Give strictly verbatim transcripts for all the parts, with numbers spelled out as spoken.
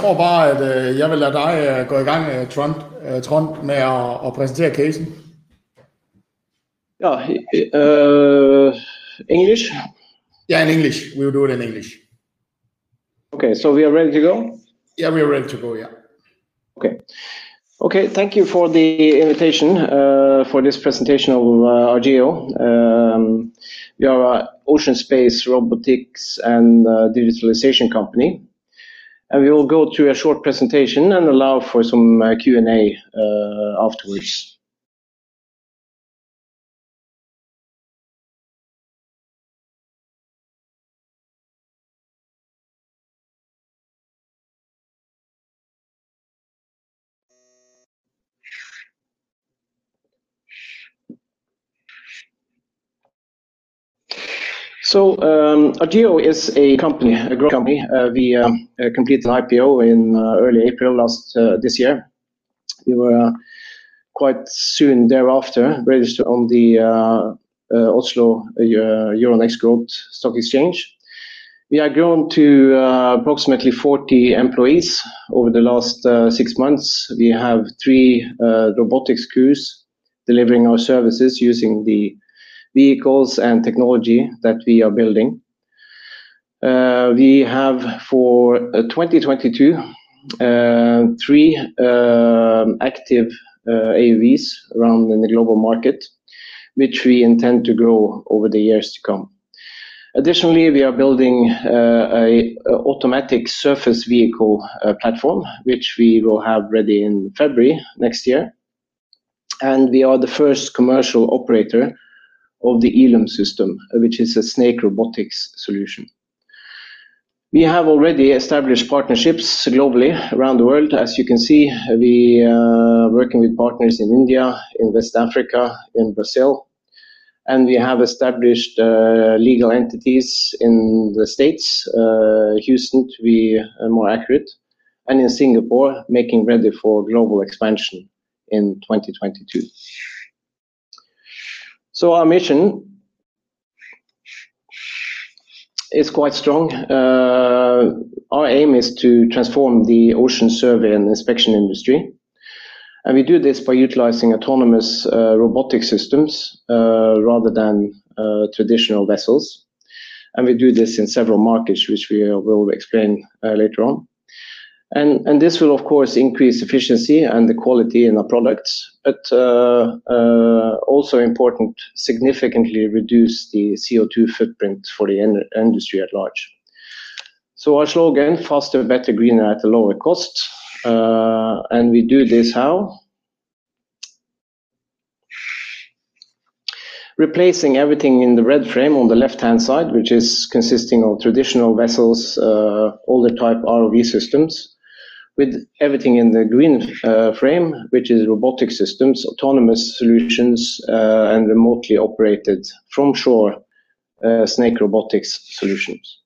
tror bare, at øh, jeg vil lade dig øh, gå i gang, øh, Trond, øh, Trond, med at, at præsentere casen. Ja, uh, English? Yeah, in English. We will do it in English. Okay, so we are ready to go? Yeah, we are ready to go, yeah. Okay. Okay, thank you for the invitation uh, for this presentation of uh, Argeo. Um, we are an ocean space robotics and uh, digitalization company. And we will go through a short presentation and allow for some uh, Q and A uh, afterwards. So um, Argeo is a company, a growth company. Uh, we um, uh, completed an I P O in uh, early April last uh, this year. We were uh, quite soon thereafter registered on the uh, uh, Oslo uh, Euronext Growth Stock Exchange. We have grown to uh, approximately forty employees over the last uh, six months. We have three uh, robotics crews delivering our services using the vehicles and technology that we are building. Uh, we have for uh, twenty twenty-two uh, three uh, active uh, A U Vs around in the global market, which we intend to grow over the years to come. Additionally, we are building uh, a, a automatic surface vehicle uh, platform, which we will have ready in February next year. And we are the first commercial operator of the Elum system, which is a snake robotics solution. We have already established partnerships globally around the world. As you can see, we are working with partners in India, in West Africa, in Brazil, and we have established uh, legal entities in the States, uh, Houston to be uh, more accurate, and in Singapore, making ready for global expansion in twenty twenty-two. So our mission is quite strong. Uh, our aim is to transform the ocean survey and inspection industry. And we do this by utilizing autonomous uh, robotic systems uh, rather than uh, traditional vessels. And we do this in several markets, which we will explain uh, later on. And, and this will, of course, increase efficiency and the quality in our products, but uh, uh, also important, significantly reduce the C O two footprint for the in industry at large. So our slogan, faster, better, greener at a lower cost. Uh, and we do this how? Replacing everything in the red frame on the left-hand side, which is consisting of traditional vessels, uh, older type R O V systems, with everything in the green uh, frame, which is robotic systems, autonomous solutions, uh, and remotely operated from shore uh, snake robotics solutions.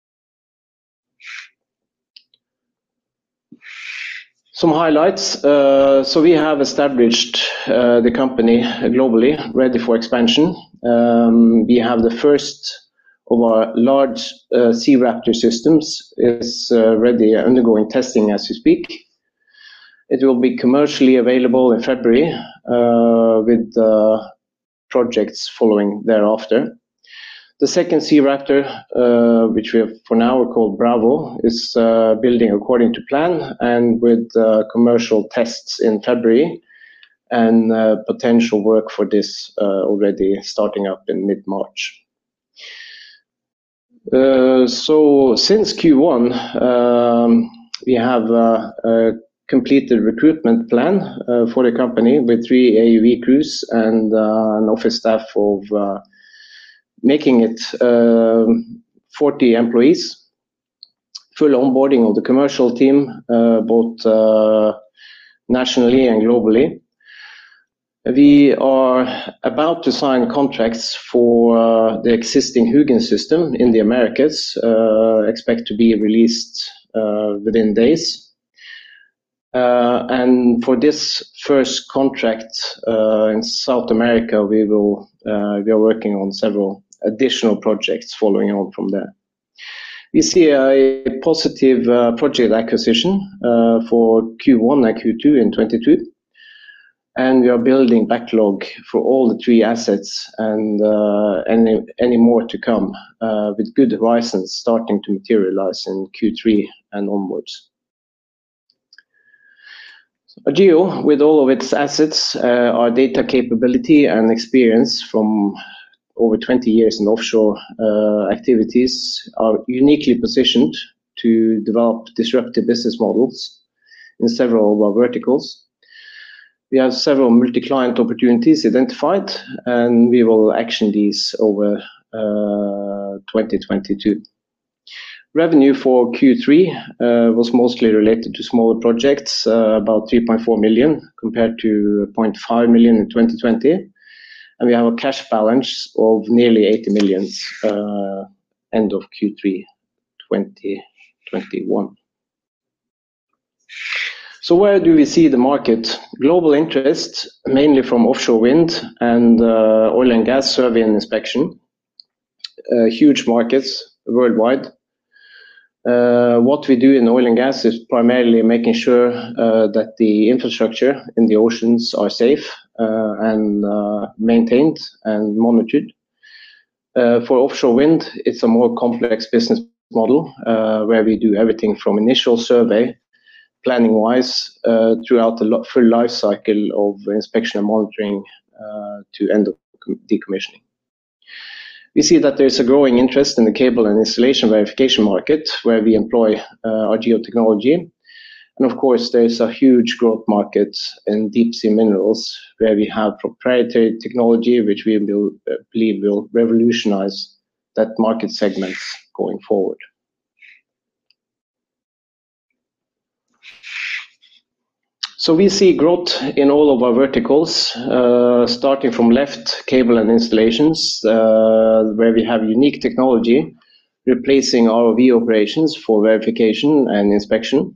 Some highlights. Uh, so we have established uh, the company globally, ready for expansion. Um, we have the first of our large uh, SeaRaptor systems is uh, ready, undergoing testing as we speak. It will be commercially available in February uh, with uh, projects following thereafter. The second SeaRaptor, uh, which we have for now called Bravo, is uh, building according to plan and with uh, commercial tests in February and uh, potential work for this uh, already starting up in mid-March. Uh, so since Q one, um, we have uh, a completed recruitment plan uh, for the company with three A U V crews and uh, an office staff of uh, making it uh, forty employees. Full onboarding of the commercial team, uh, both uh, nationally and globally. We are about to sign contracts for uh, the existing Hugin system in the Americas, uh, expect to be released uh, within days. Uh, and for this first contract uh, in South America, we will uh, we are working on several additional projects following on from there. We see a positive uh, project acquisition uh, for Q one and Q two in twenty-two, and we are building backlog for all the three assets and uh, any, any more to come uh, with good horizons starting to materialize in Q three and onwards. Argeo, with all of its assets, uh, our data capability and experience from over twenty years in offshore uh, activities, are uniquely positioned to develop disruptive business models in several of our verticals. We have several multi-client opportunities identified, and we will action these over uh, twenty twenty-two. Revenue for Q three uh, was mostly related to smaller projects, uh, about three point four million compared to zero point five million in twenty twenty. And we have a cash balance of nearly eighty million uh, end of Q three twenty twenty-one. So where do we see the market? Global interest, mainly from offshore wind and uh, oil and gas survey and inspection. Uh, huge markets worldwide. Uh, what we do in oil and gas is primarily making sure uh, that the infrastructure in the oceans are safe uh, and uh, maintained and monitored. Uh, for offshore wind, it's a more complex business model uh, where we do everything from initial survey, planning-wise, uh, throughout the lo- full life cycle of inspection and monitoring uh, to end of decommissioning. We see that there's a growing interest in the cable and installation verification market, where we employ uh, Argeo technology. And of course, there's a huge growth market in deep sea minerals, where we have proprietary technology, which we will, uh, believe will revolutionize that market segments going forward. So we see growth in all of our verticals, uh, starting from left, cable and installations, uh, where we have unique technology replacing R O V operations for verification and inspection.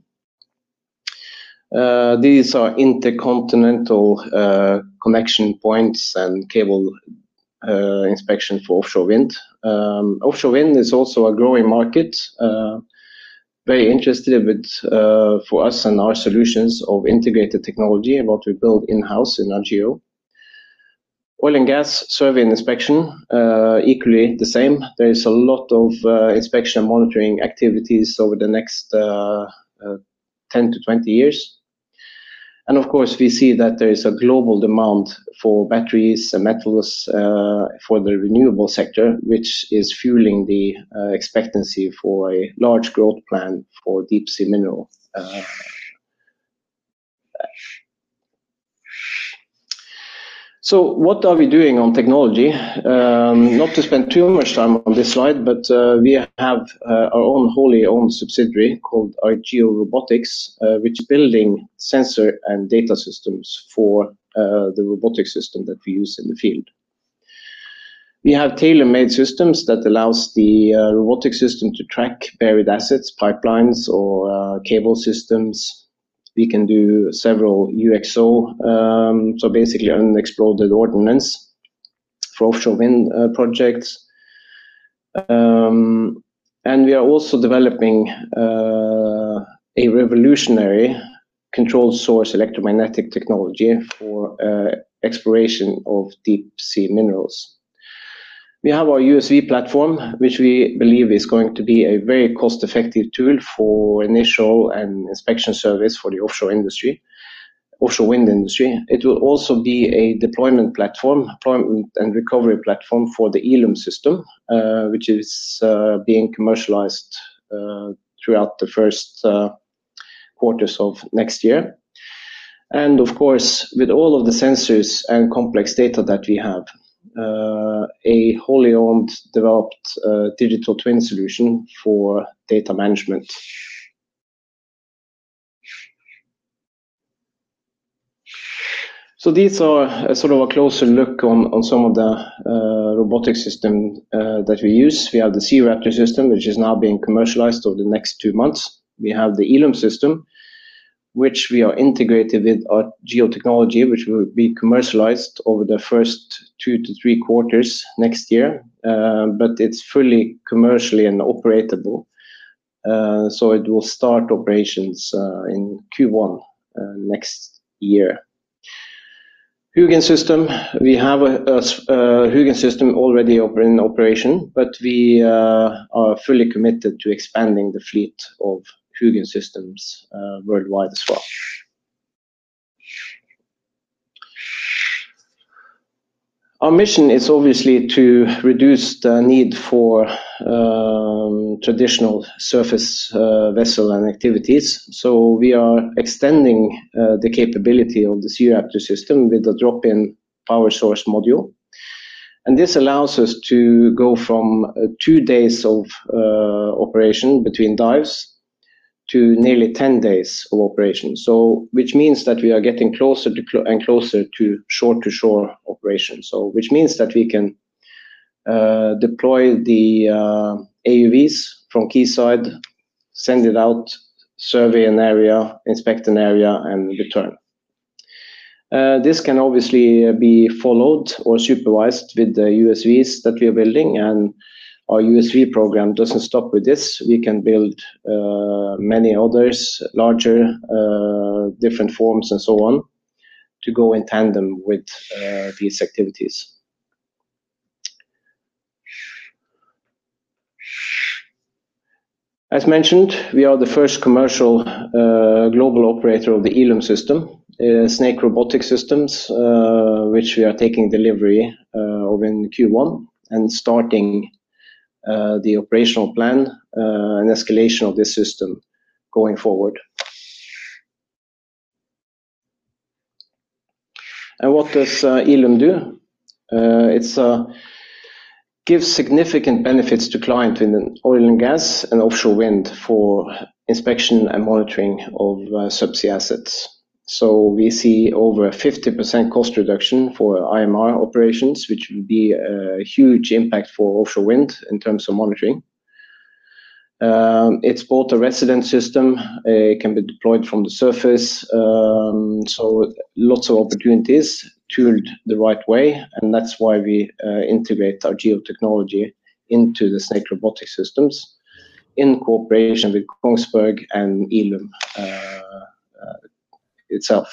Uh, these are intercontinental uh, connection points and cable uh, inspection for offshore wind. Um, offshore wind is also a growing market. Uh, Very interested with uh, for us and our solutions of integrated technology and what we build in-house in Argeo. Oil and gas survey and inspection, uh, equally the same. There is a lot of uh, inspection and monitoring activities over the next uh, uh, ten to twenty years. And of course, we see that there is a global demand for batteries and metals uh, for the renewable sector, which is fueling the uh, expectancy for a large growth plan for deep sea mineral. Uh, so what are we doing on technology? Um, not to spend too much time on this slide, but uh, we have uh, our own wholly owned subsidiary called Argeo Robotics, uh, which is building sensor and data systems for uh, the robotic system that we use in the field. We have tailor-made systems that allows the uh, robotic system to track buried assets, pipelines, or uh, cable systems. We can do several U X O, um, so basically unexploded ordnance for offshore wind uh, projects. Um, and we are also developing uh, a revolutionary controlled source electromagnetic technology for uh, exploration of deep sea minerals. We have our U S V platform, which we believe is going to be a very cost-effective tool for initial and inspection service for the offshore industry, offshore wind industry. It will also be a deployment platform, deployment and recovery platform for the Eelume system, uh, which is uh, being commercialized uh, throughout the first uh, quarters of next year. And of course, with all of the sensors and complex data that we have, Uh, a wholly owned developed uh, digital twin solution for data management. So these are a sort of a closer look on, on some of the uh, robotic system uh, that we use. We have the SeaRaptor system, which is now being commercialized over the next two months. We have the Eelume system, which we are integrated with our geotechnology, which will be commercialized over the first two to three quarters next year. Uh, but it's fully commercially and operatable Uh, so it will start operations uh, in Q one uh, next year. Hugin system, we have a, a, a Hugin system already in operation, but we uh, are fully committed to expanding the fleet of Hugin systems uh, worldwide as well. Our mission is obviously to reduce the need for um, traditional surface uh, vessel and activities. So we are extending uh, the capability of the SeaRaptor system with a drop-in power source module. And this allows us to go from uh, two days of uh, operation between dives to nearly ten days of operation. So, which means that we are getting closer to cl and closer to shore-to-shore operation. So, which means that we can uh, deploy the uh, A U Vs from quayside, send it out, survey an area, inspect an area, and return. Uh, this can obviously be followed or supervised with the U S Vs that we are building, and our U S V program doesn't stop with this. We can build uh, many others, larger, uh, different forms and so on, to go in tandem with uh, these activities. As mentioned, we are the first commercial uh, global operator of the Eelume system, uh, Snake Robotics Systems, uh, which we are taking delivery uh, of in Q one and starting Uh, the operational plan uh, and escalation of this system going forward. And what does uh, Eelume do? Uh, it's uh, gives significant benefits to clients in oil and gas and offshore wind for inspection and monitoring of uh, subsea assets. So we see over a fifty percent cost reduction for I M R operations, which would be a huge impact for offshore wind in terms of monitoring. Um, it's both a resident system, uh, it can be deployed from the surface, um, so lots of opportunities tooled the right way, and that's why we uh, integrate our geotechnology into the Snake Robotics Systems in cooperation with Kongsberg and Eelume uh, uh, itself.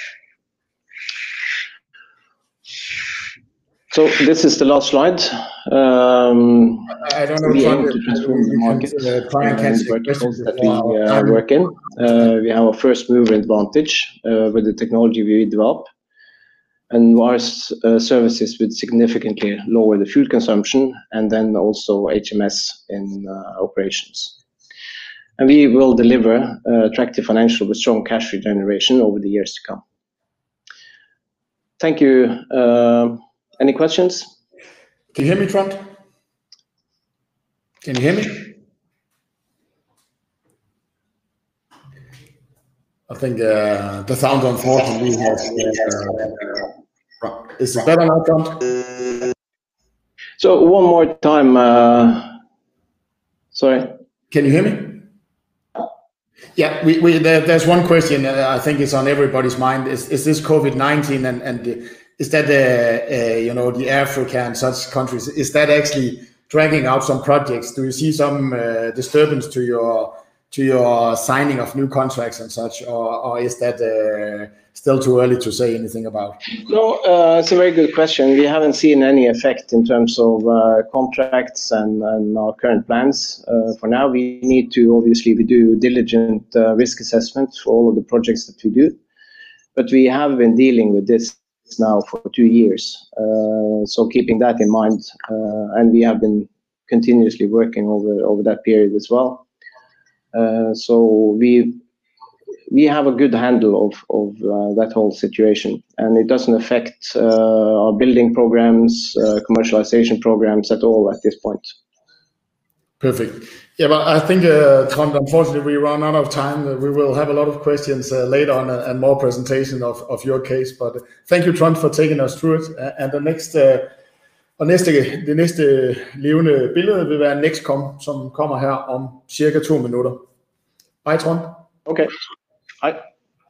So this is the last slide. Um, I don't know. we aim to transform the market uh, and the verticals that we uh, work in. Uh, we have a first mover advantage uh, with the technology we develop, and our uh, services would significantly lower the fuel consumption, and then also H M S in uh, operations. And we will deliver uh, attractive financial with strong cash regeneration over the years to come. Thank you. Uh, any questions? Can you hear me, Trond? Can you hear me? I think uh, the sound, unfortunately, has. Uh, is it better now, Trond? So one more time. Uh, sorry. Can you hear me? Yeah, we, we there, there's one question uh, I think is on everybody's mind. Is is this COVID nineteen and and the, is that uh, uh, you know, the Africa and such countries, is that actually dragging out some projects? Do you see some uh, disturbance to your to your signing of new contracts and such, or, or is that uh, still too early to say anything about? No, uh, it's a very good question. We haven't seen any effect in terms of uh, contracts and, and our current plans. Uh, for now, we need to, obviously, we do diligent uh, risk assessment for all of the projects that we do. But we have been dealing with this now for two years. Uh, so keeping that in mind, uh, and we have been continuously working over, over that period as well. Uh, so we we have a good handle of, of uh, that whole situation, and it doesn't affect uh, our building programs, uh, commercialization programs at all at this point. Perfect. Yeah, but I think, uh, Trond, unfortunately, we run out of time. We will have a lot of questions uh, later on and, and more presentation of, of your case. But thank you, Trond, for taking us through it. Uh, and the next, uh, og næste, det næste levende billede vil være Nexcom, som kommer her om cirka to minutter. Hej, Trond. Okay. Hej.